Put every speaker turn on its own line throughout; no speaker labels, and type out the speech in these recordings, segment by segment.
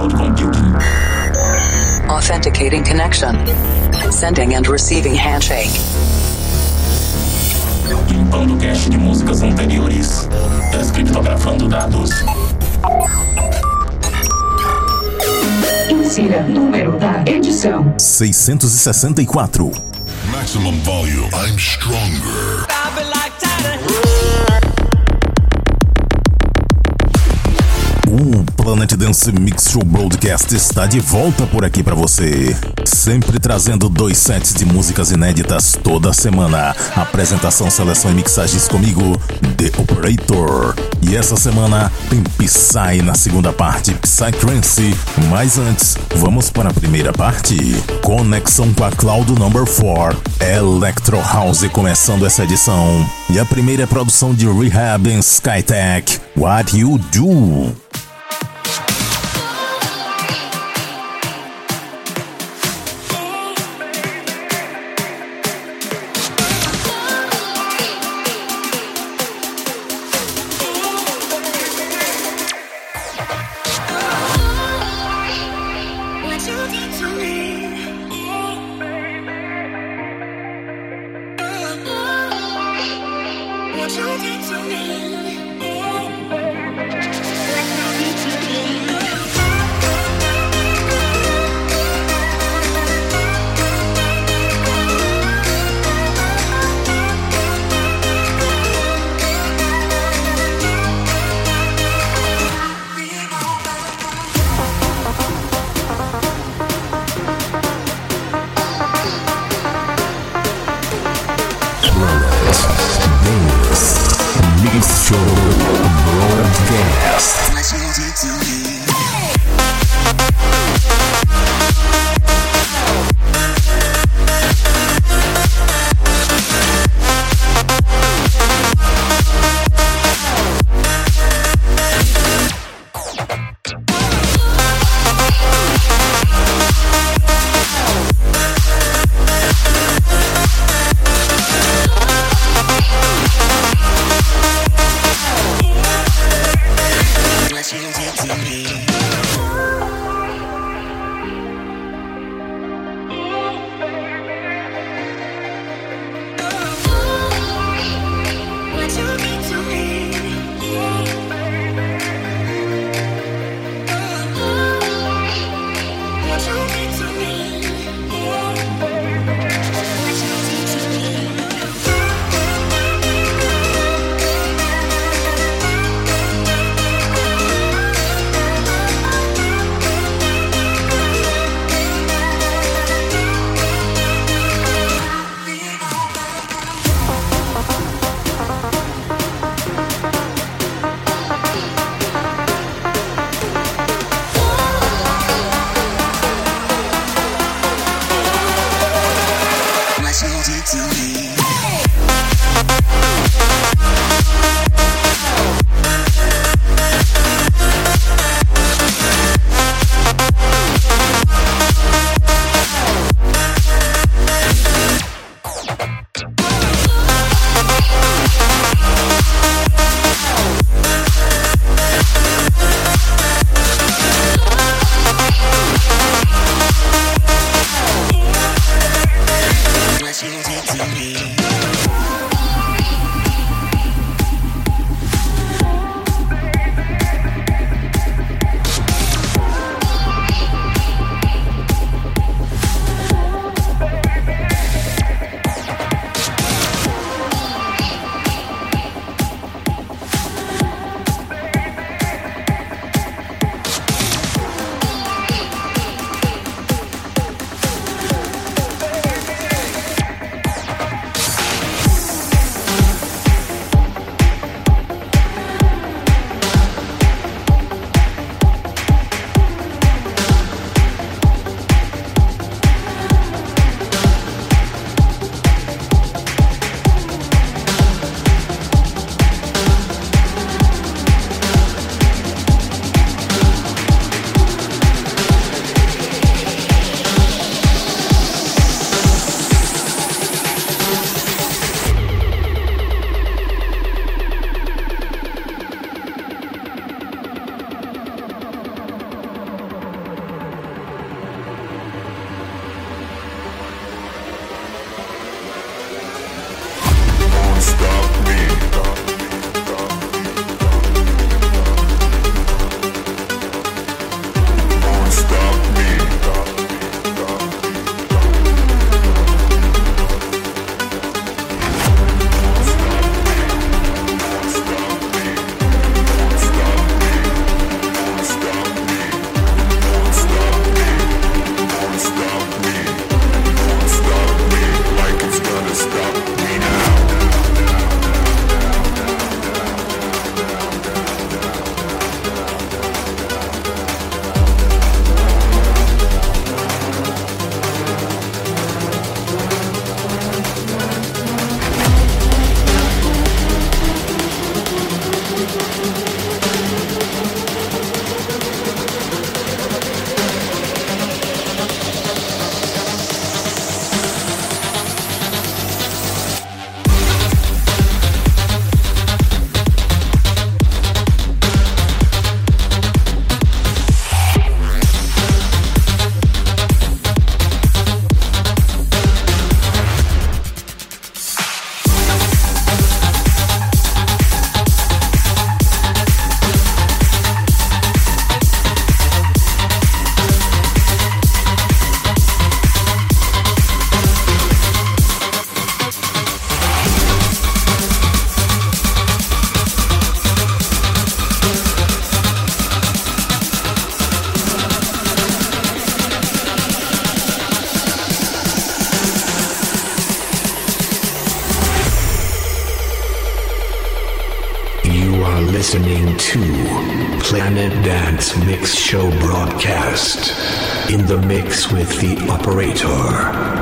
cloud computing.
Authenticating connection. Sending and receiving handshake.
Limpando cache de músicas anteriores. Descriptografando dados.
Insira número da edição
664.
Maximum volume. I'm stronger.
O Planet Dance Mix Show Broadcast está de volta por aqui para você. Sempre trazendo 2 sets de músicas inéditas toda semana. Apresentação, seleção e mixagens comigo, The Operator. E essa semana tem Psy na segunda parte, Psytrance. Mas antes, vamos para a primeira parte. Conexão com a Cloud Number 4, Electro House começando essa edição. E a primeira é a produção de Rehab and Skytech, What You Do.
What you did to me. listening to Planet Dance Mix Show broadcast. In the mix with the operator.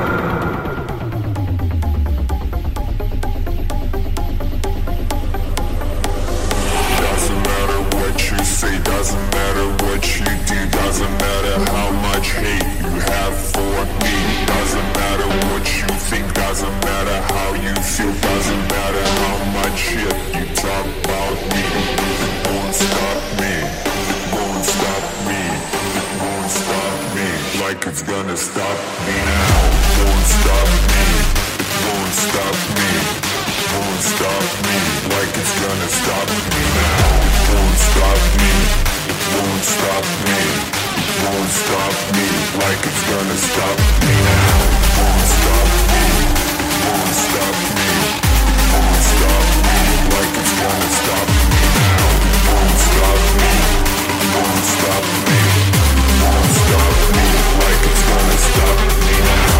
It's gonna stop me now. Won't stop me. It won't stop me. Won't stop me. Like it's gonna stop me now. It won't stop me. It won't stop me. It won't stop me. Like it's gonna stop me now. It won't stop me. It won't stop me. It won't stop me. Like it's gonna stop me now. It won't stop me. It won't stop me. It won't stop me. Like it's gonna stop me now.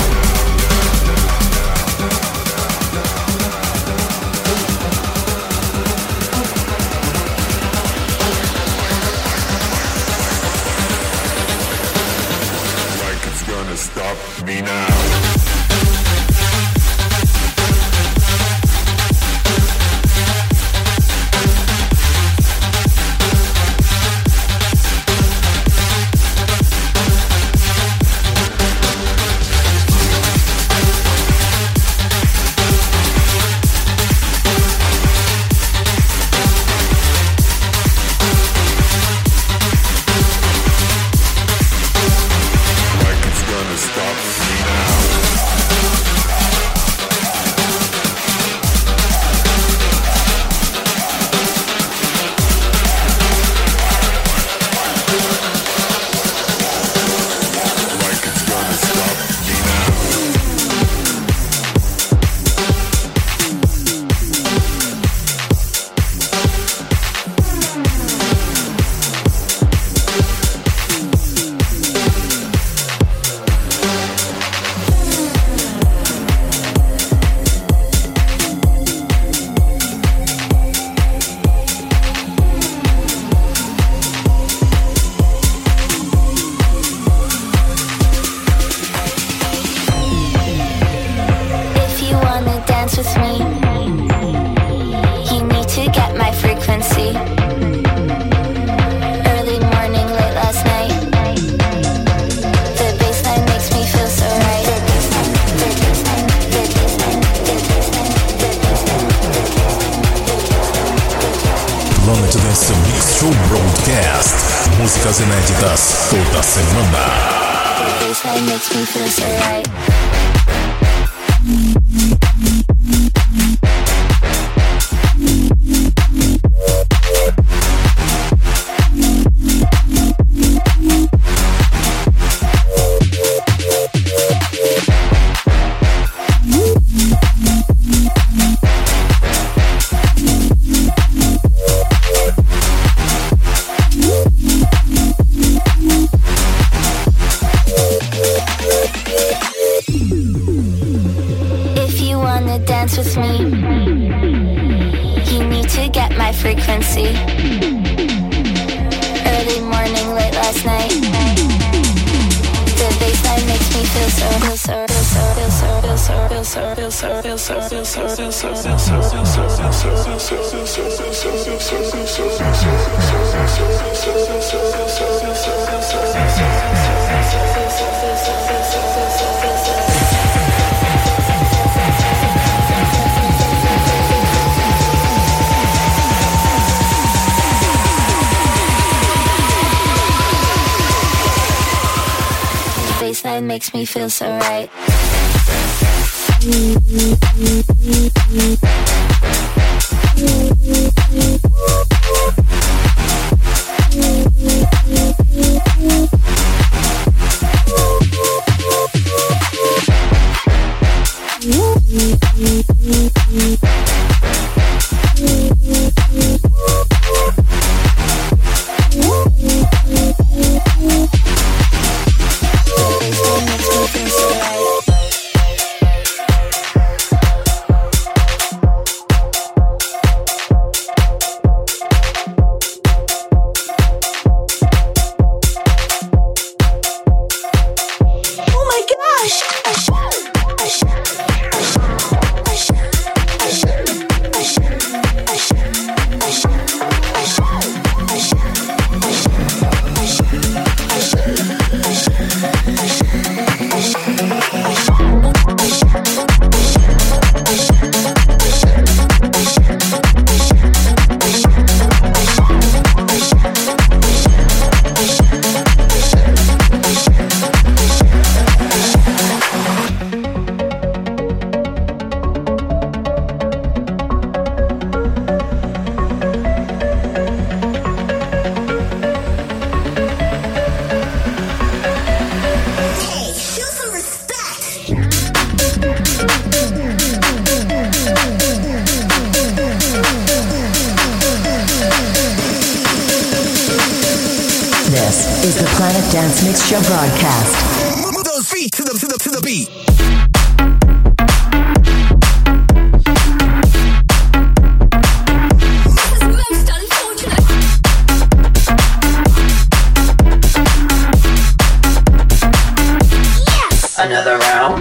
Like it's gonna stop me now.
Músicas inéditas toda semana.
Makes me feel so right.
is the Planet Dance Mix Show broadcast.
Move those feet to the beat.
Another round.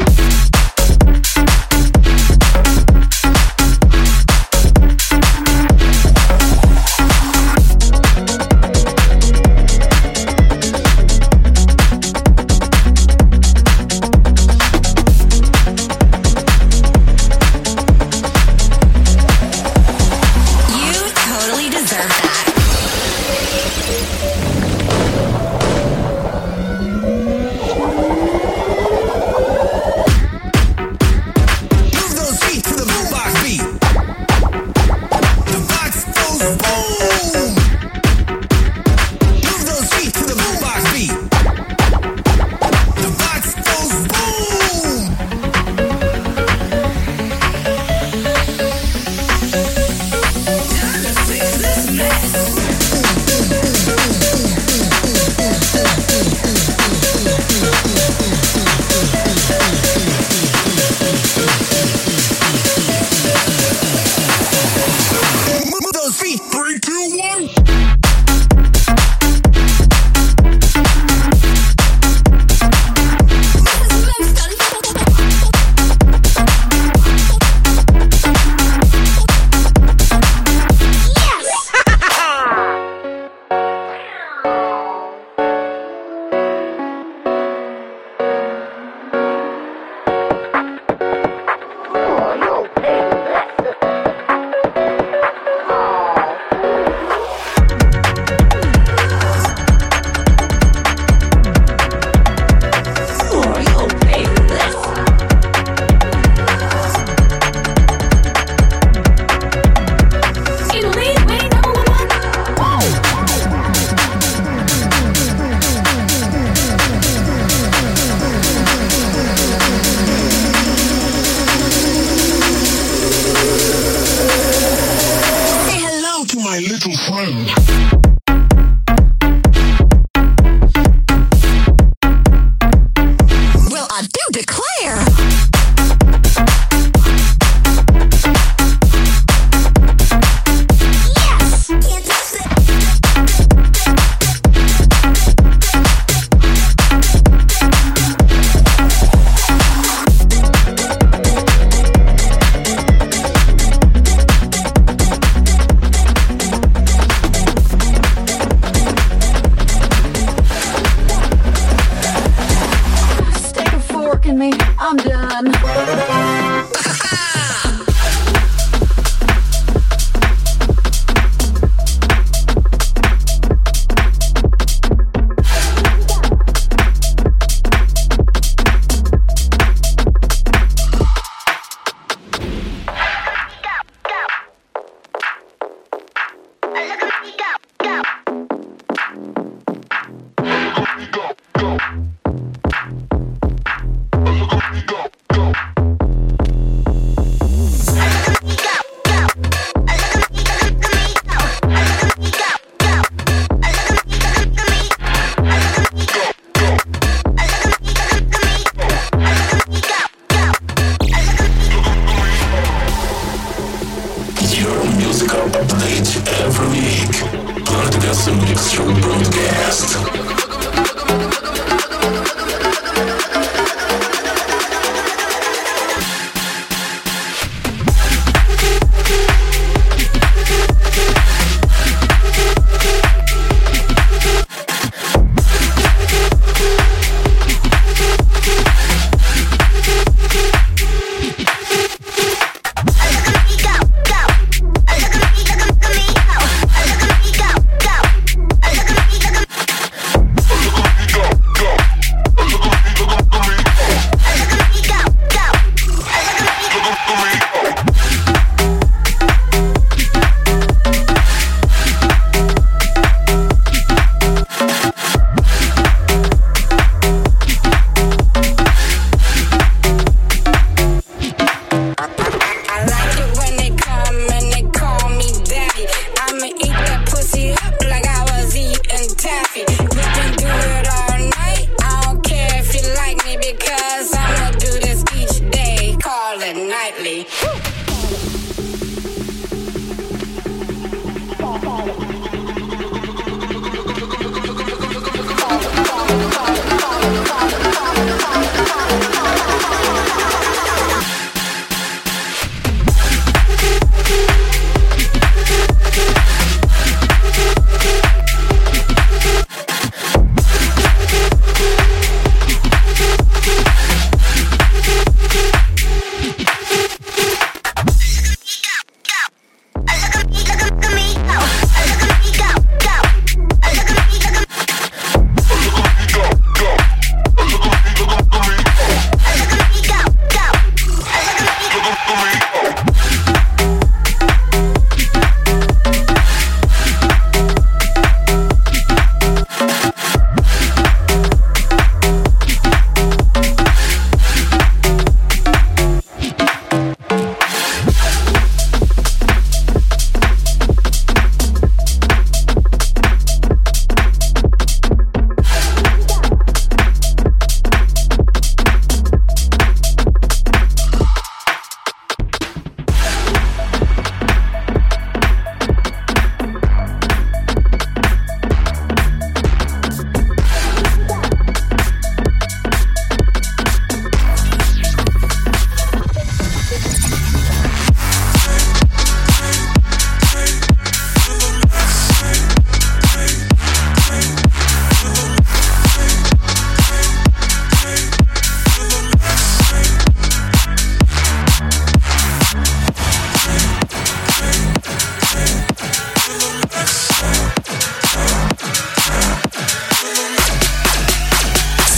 I'ma eat that pussy up like I was eating taffy. We've been doing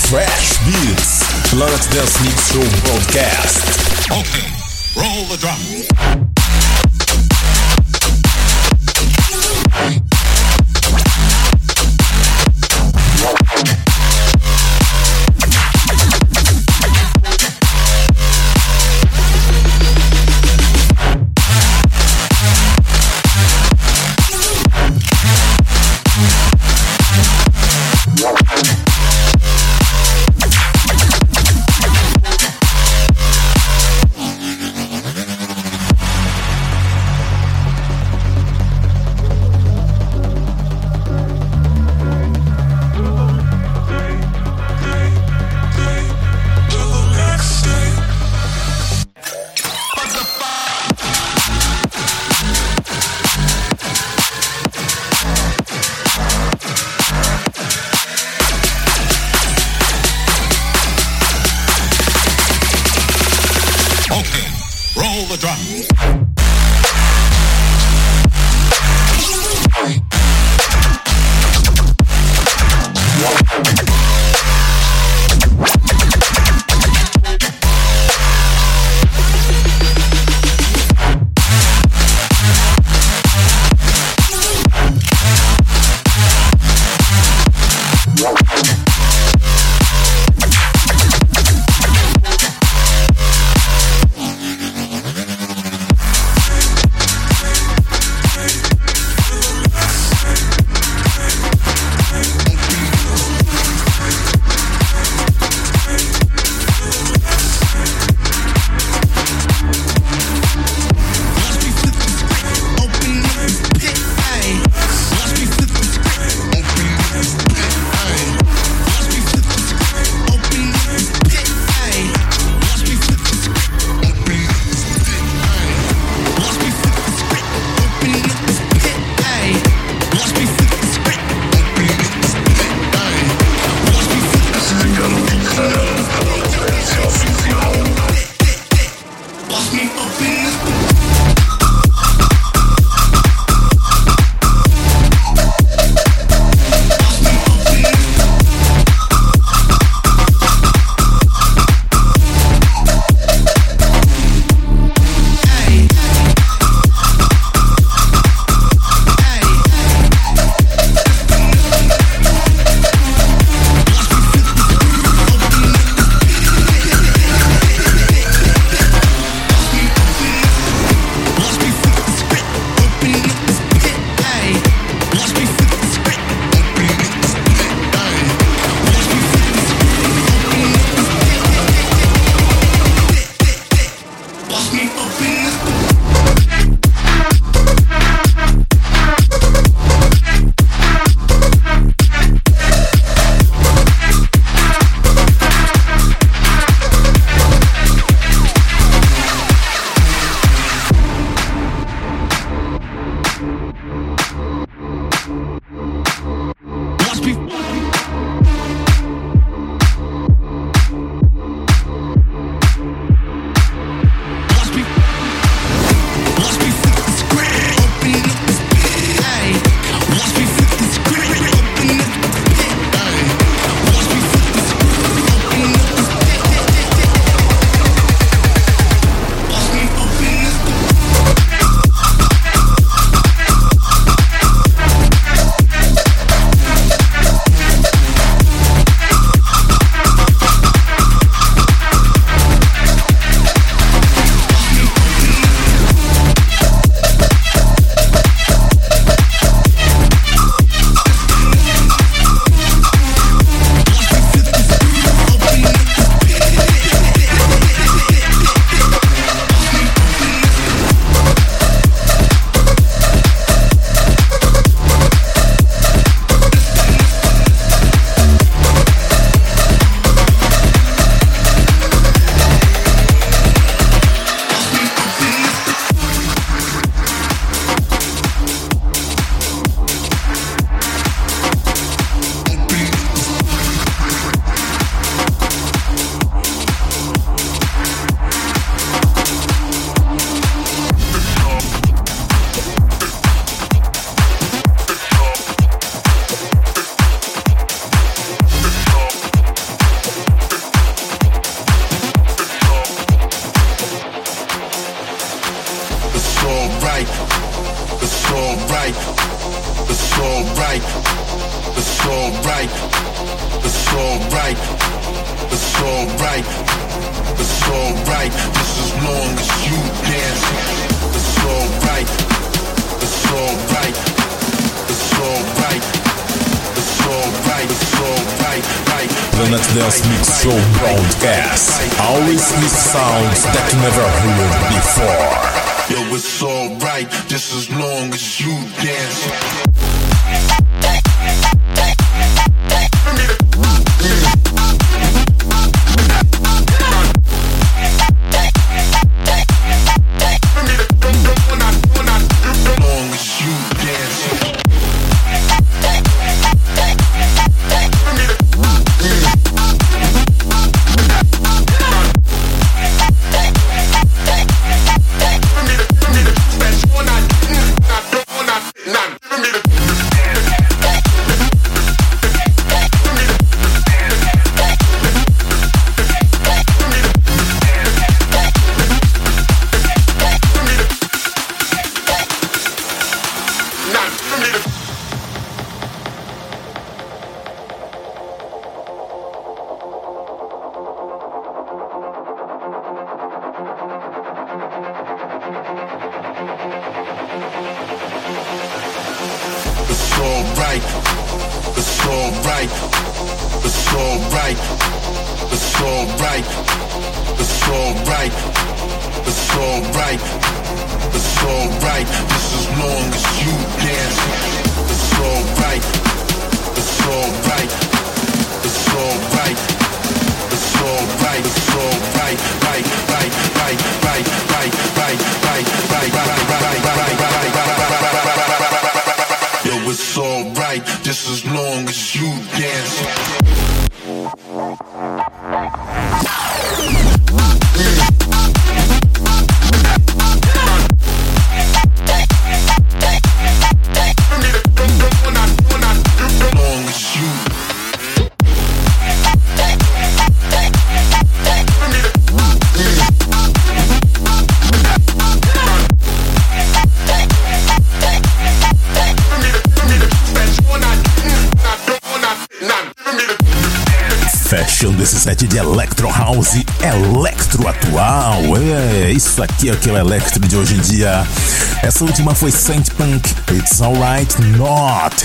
Fresh Beats, Planet Dance Mix Show Broadcast.
Okay, roll the drum.
alright. It's alright. It's alright. It's alright. It's alright. Just as long as you dance. It's alright. It's alright. It's alright. It's alright. It's alright.
Planet Dance Mix Show broadcast. Always with sounds that you never heard before.
Yo, it's alright, just as long as you dance.
Fechando esse set de Electro House, Electro atual. Isso aqui é o que é o Electro de hoje em dia. Essa última foi Saint Punk, It's Alright Not.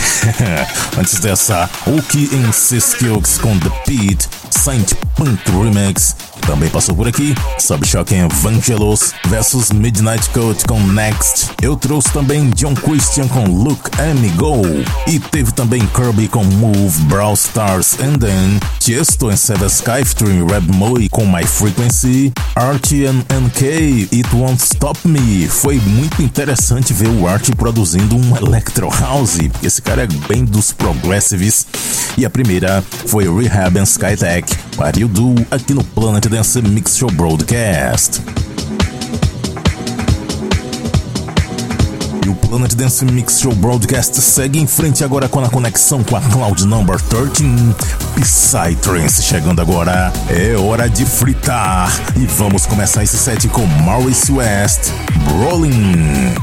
Antes dessa, Oki and Siskills com The Beat, Saint Punk Remix. Também passou por aqui Subshock and Vangelos versus Midnight Cult com Next. Eu trouxe também John Christian com Look at Me Go. E teve também Kirby com Move, Brawl Stars and Then Tiesto and Seven Skyftream, Red Moe com My Frequency, Archie and NK, It Won't Stop Me. Foi muito interessante ver o Archie produzindo um Electro House, porque esse cara é bem dos progressives. E a primeira foi Rehab and Skytech, What You Do, aqui no Planet Dance Mix Show Broadcast. E o Planet Dance Mix Show Broadcast segue em frente agora com a conexão com a Cloud Number 13, Psytrance. Chegando agora, é hora de fritar. E vamos começar esse set com Maurice West, Rolling.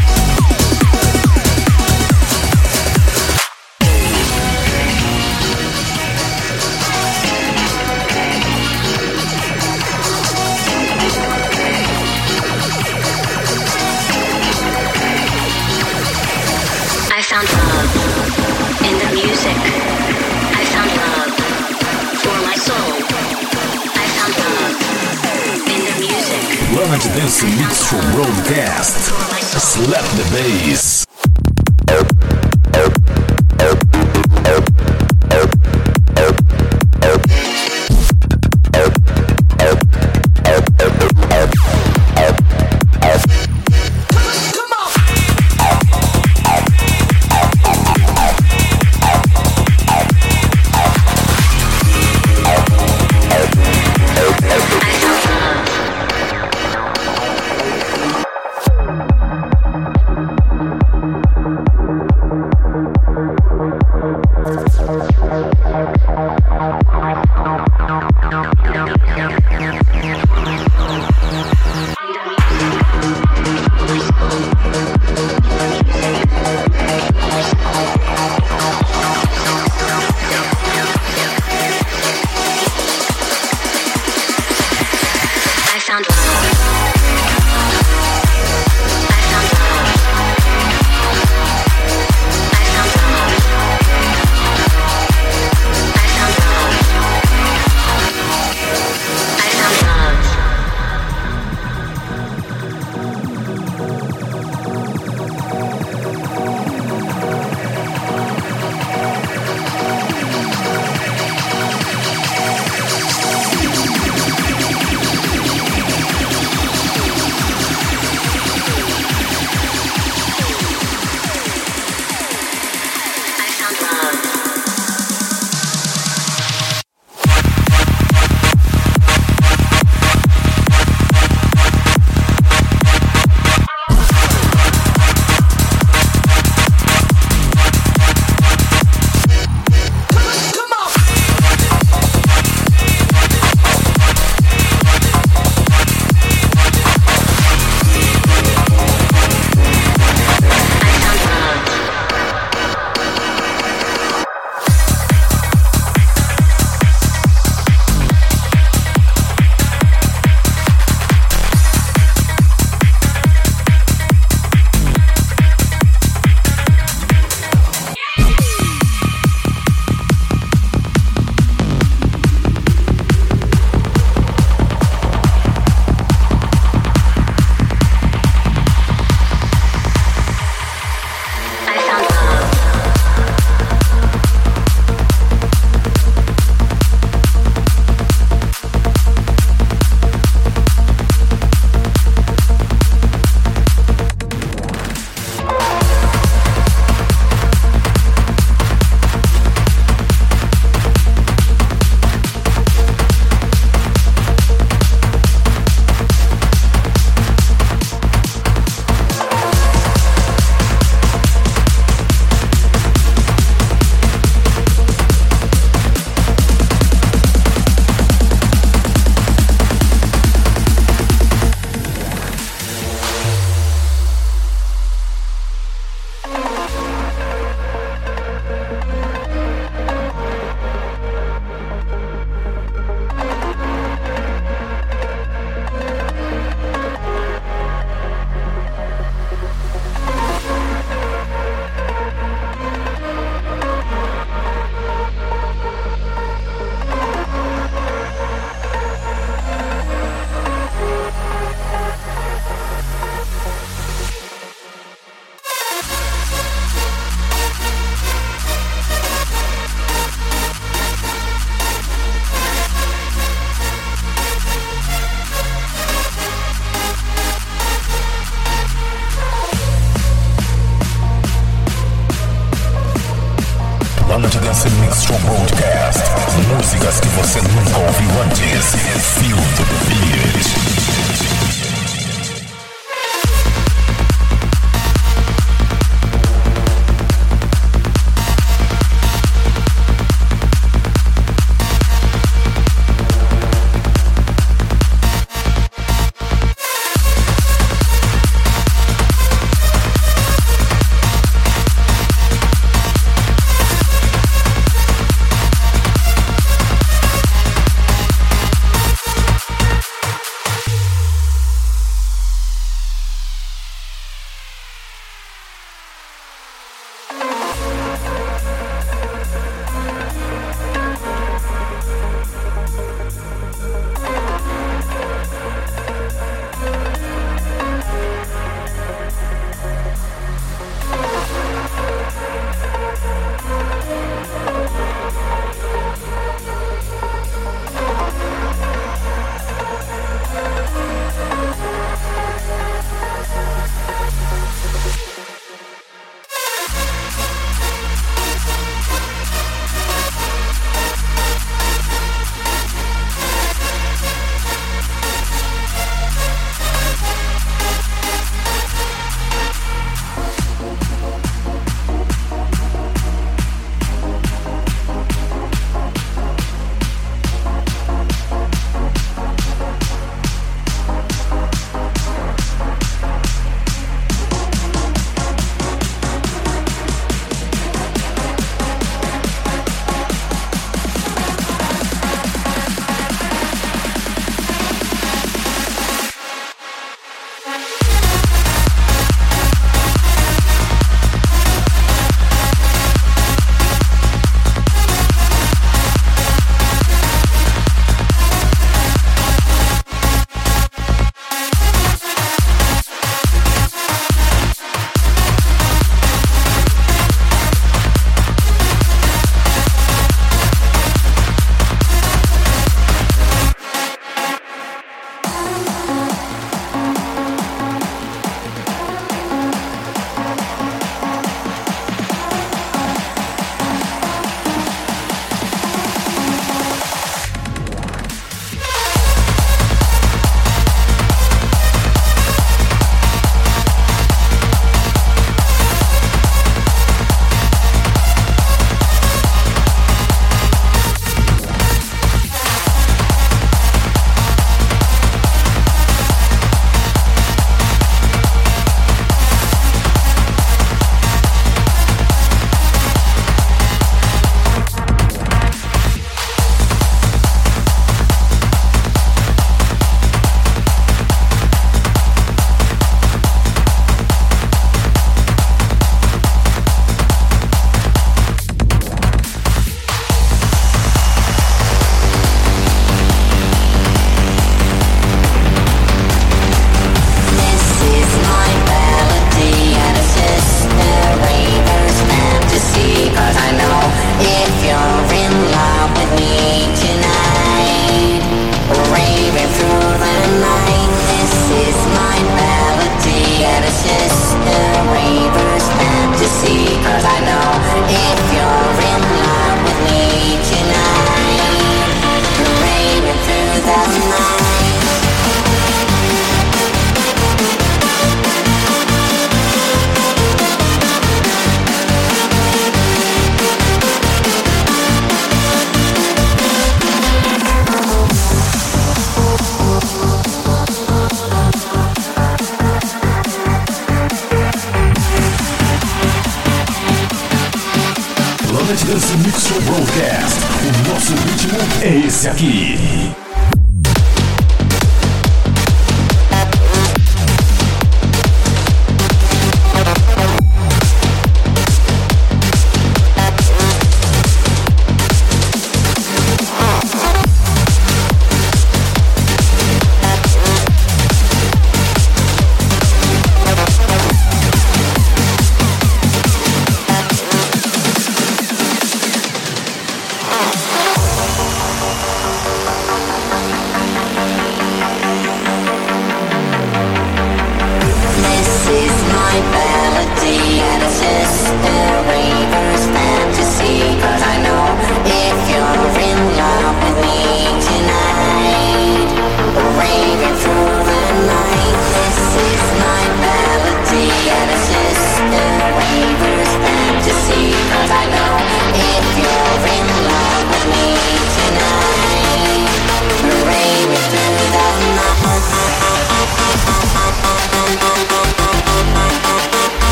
Planet Dance Mix Show Broadcast. Slap the bass. Planet Dance Mix Show Broadcast. Músicas que você nunca ouviu antes. Feel the beat. Dance Mix Show Broadcast. O nosso ritmo é esse aqui.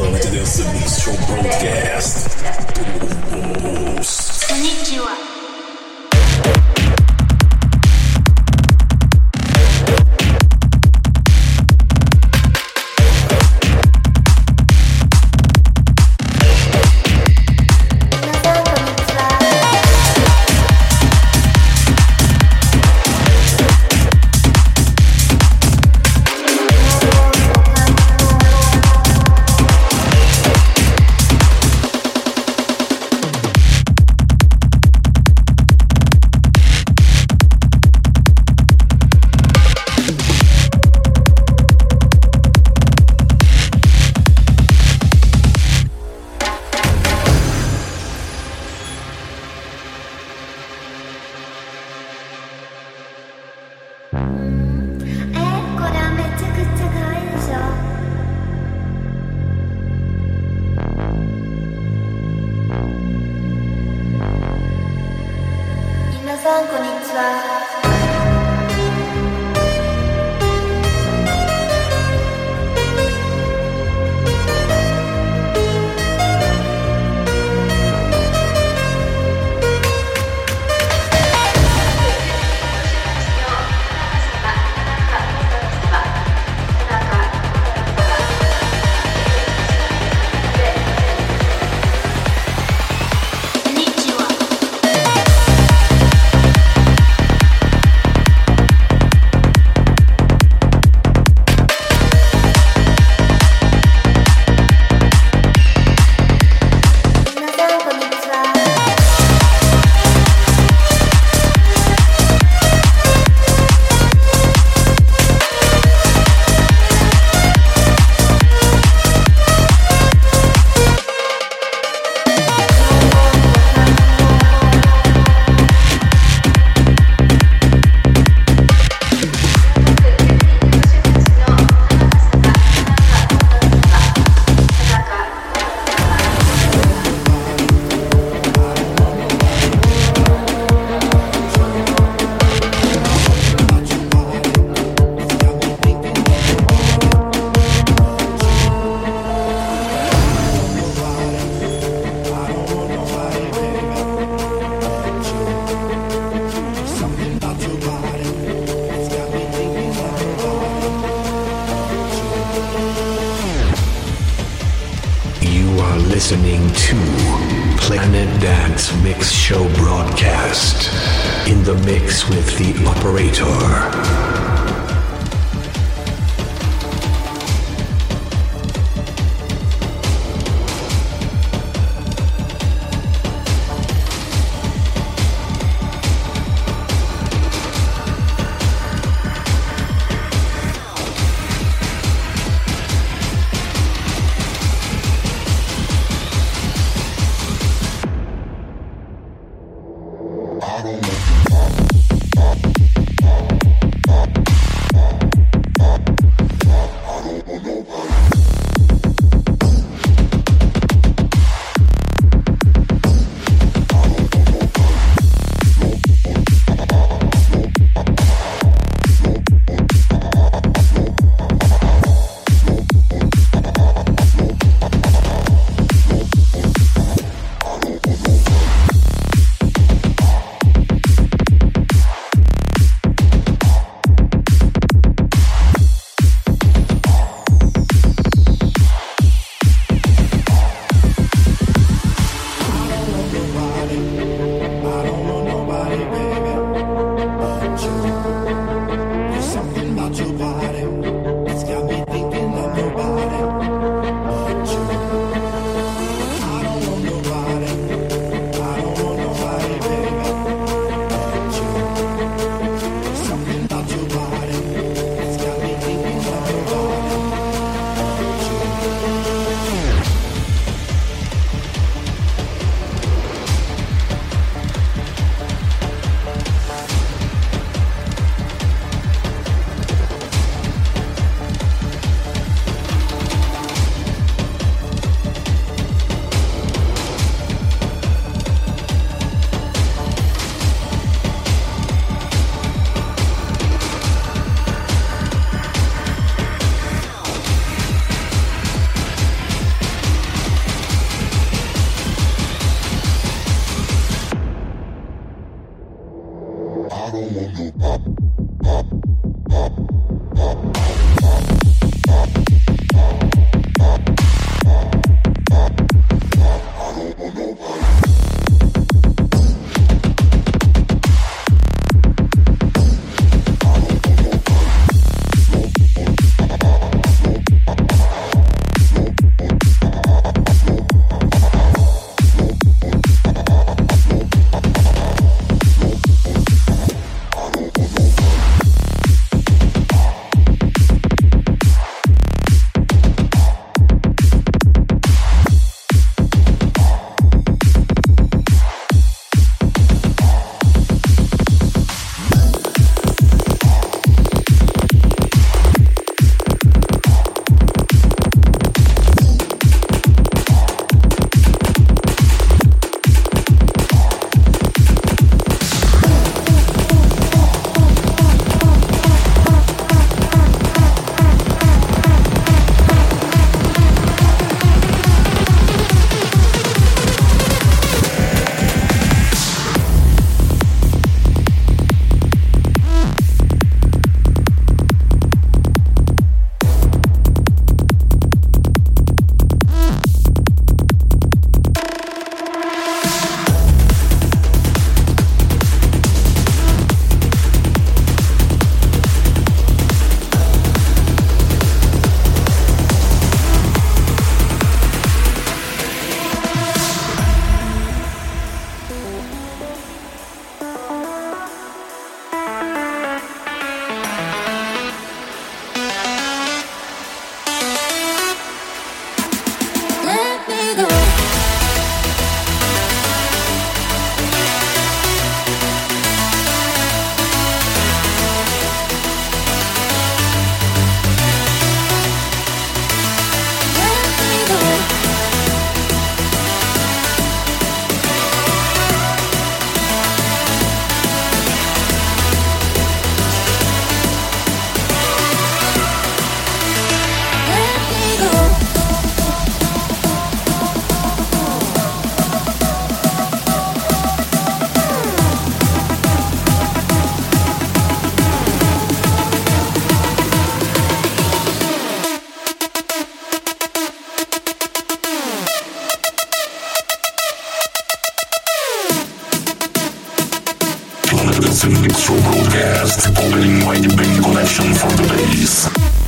Planet Dance Mix Show Broadcast.
Konnichiwa.
Listening to Planet Dance Mix Show Broadcast. In the mix with the operator.
I don't
Dance Mix Show Broadcast, opening my debate collection for the days.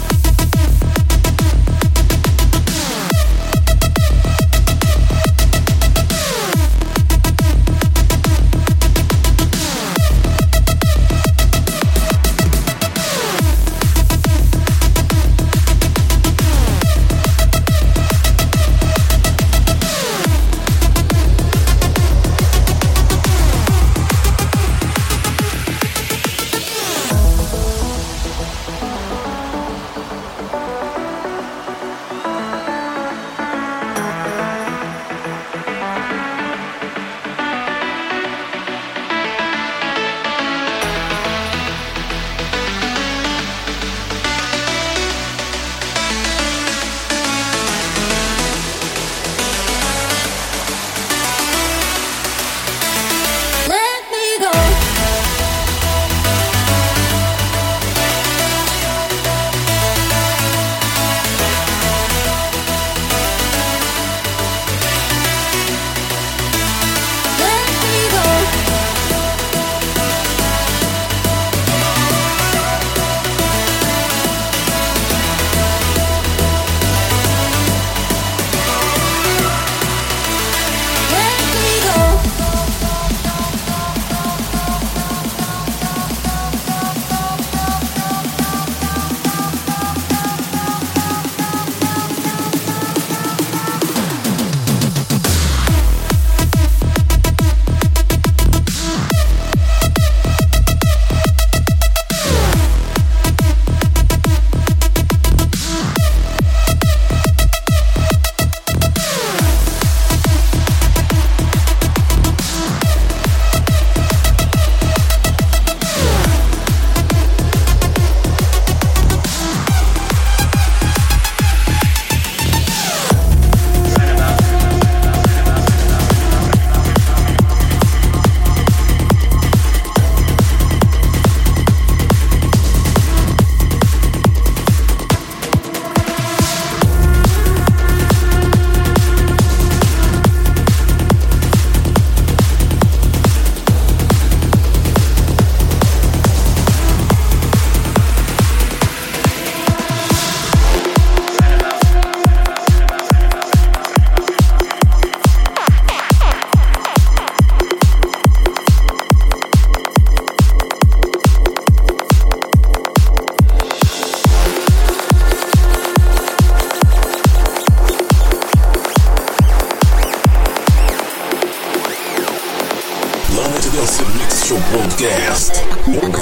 Broadcast.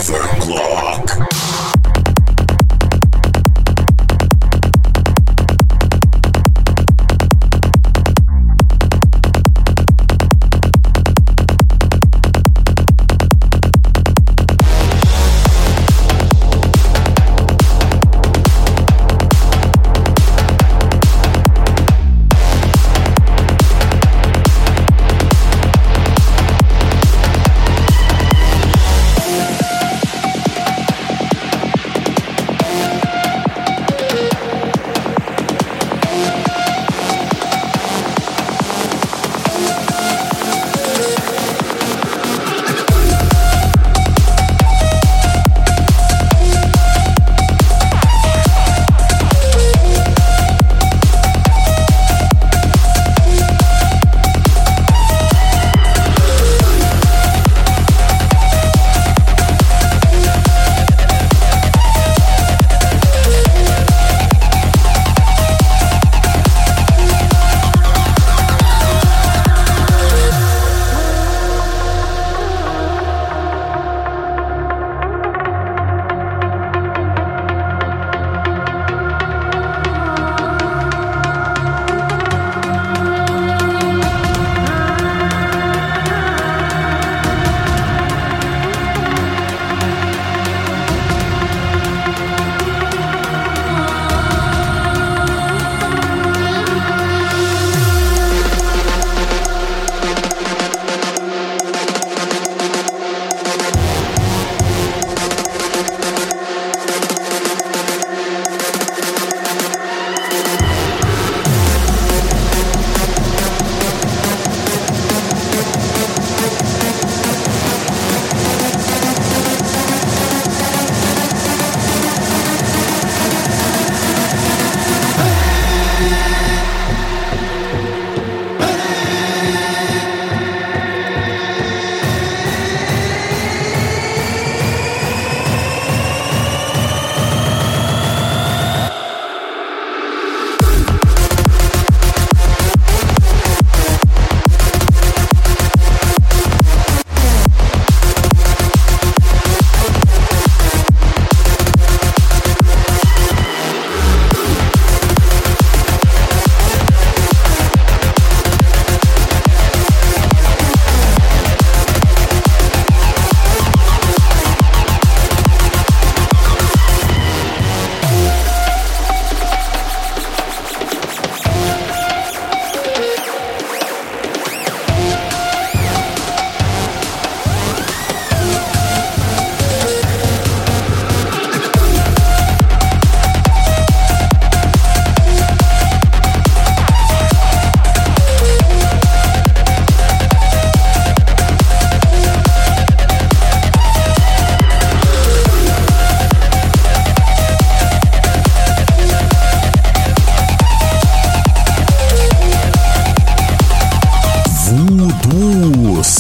Overclock.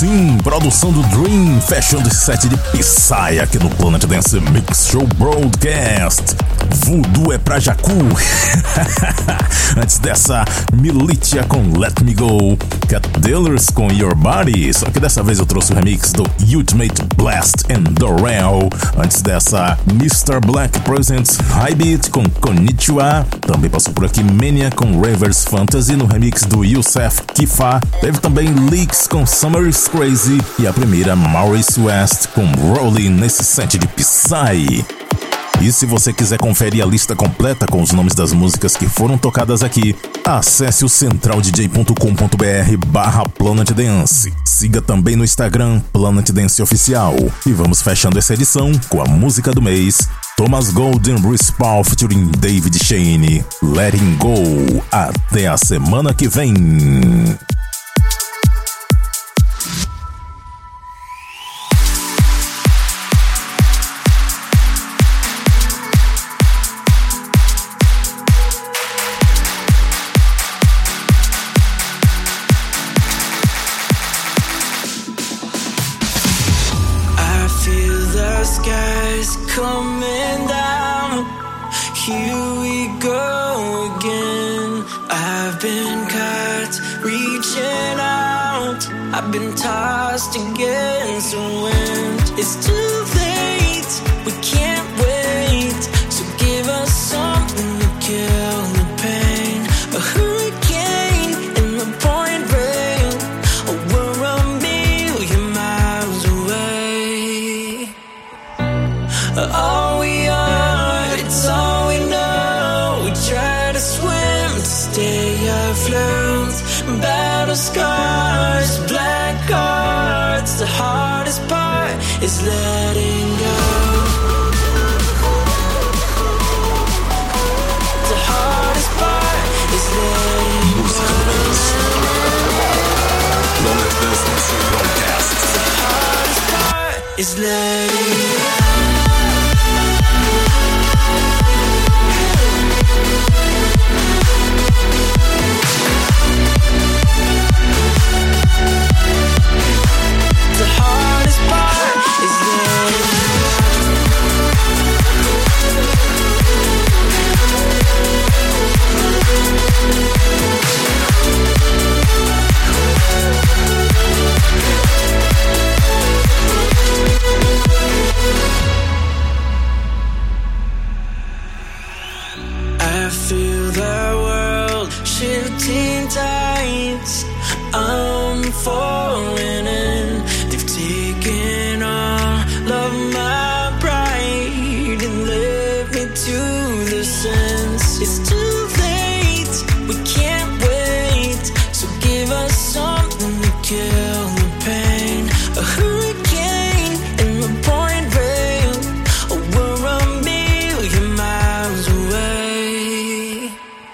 Sim, produção do Dream, fechando esse set de Psy aqui no Planet Dance Mix Show Broadcast. Voodoo é pra Jacu. Antes dessa, Militia com Let Me Go, Cat Dealers com Your Body, só que dessa vez eu trouxe o remix do Ultimate Blast and Dorel. Antes dessa, Mr. Black Presents High Beat com Konnichiwa. Também passou por aqui Mania com Ravers Fantasy no remix do Youssef Kifa. Teve também Leaks com Summer is Crazy e a primeira Maurice West com Rolling nesse set de Psy. E se você quiser conferir a lista completa com os nomes das músicas que foram tocadas aqui, acesse o centraldj.com.br/Planet Dance. Siga também no Instagram Planet Dance Oficial. E vamos fechando essa edição com a música do mês, Thomas Gold and Bruce Paul featuring David Shane, Letting Go. Até a semana que vem.
Coming down, here we go again. I've been caught reaching out, I've been tossed against the wind. It's too late, we can't wait, so give us something to kill the pain. A hurricane in the pouring rain, oh, we're a million miles away. All we are, it's all we know. We try to swim to stay afloat. Battle scars, black hearts. The hardest part is letting go. The hardest part is letting go. The hardest part is letting go. The hardest part is letting I feel the world shifting tides. I'm falling in. They've taken all of my pride and left me to the sense. It's too late, we can't wait, so give us something to kill the pain. A hurricane in the pouring rain, oh, we're a million miles away.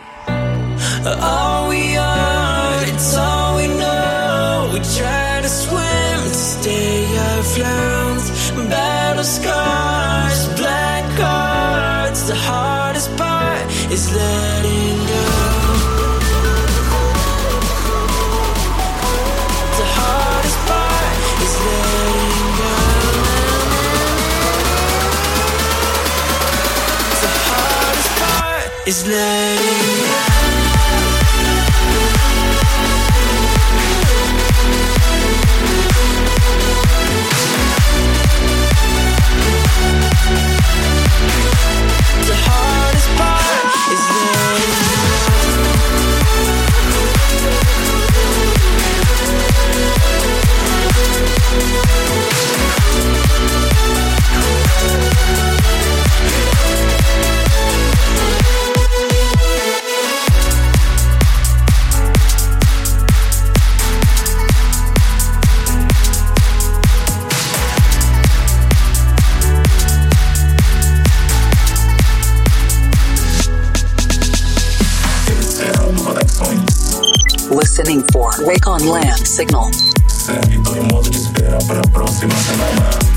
All we are, it's all we know. We try to swim to stay afloat. Battle scars, black hearts. The hardest part is letting go. The hardest part is letting go. The hardest part is letting go. The hardest part is letting
Listening for Wake on Land Signal.
Servidor em modo de espera para a próxima semana.